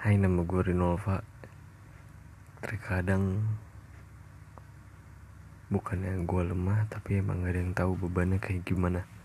Hai, nama gue Rinolva. Terkadang bukannya gue lemah, tapi emang gak ada yang tahu bebannya kayak gimana.